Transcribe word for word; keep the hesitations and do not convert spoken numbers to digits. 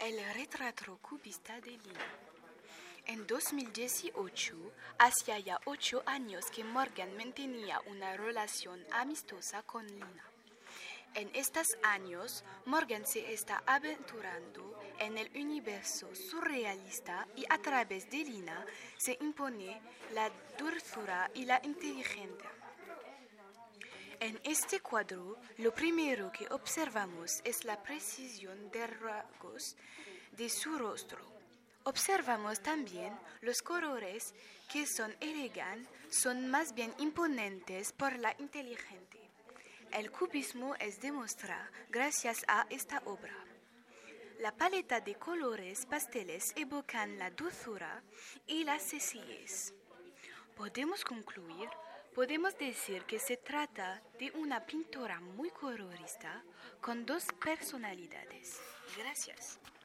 El retrato cubista de Lina. En dos mil dieciocho, hacía ya ocho años que Morgan mantenía una relación amistosa con Lina. En estos años, Morgan se está aventurando en el universo surrealista y a través de Lina se impone la dulzura y la inteligencia. En este cuadro, lo primero que observamos es la precisión de rasgos de su rostro. Observamos también los colores que son elegantes, son más bien imponentes por la inteligencia. El cubismo es demostrado gracias a esta obra. La paleta de colores pasteles evocan la dulzura y la sencillez. Podemos concluir, podemos decir que se trata de una pintura muy colorista con dos personalidades. Gracias.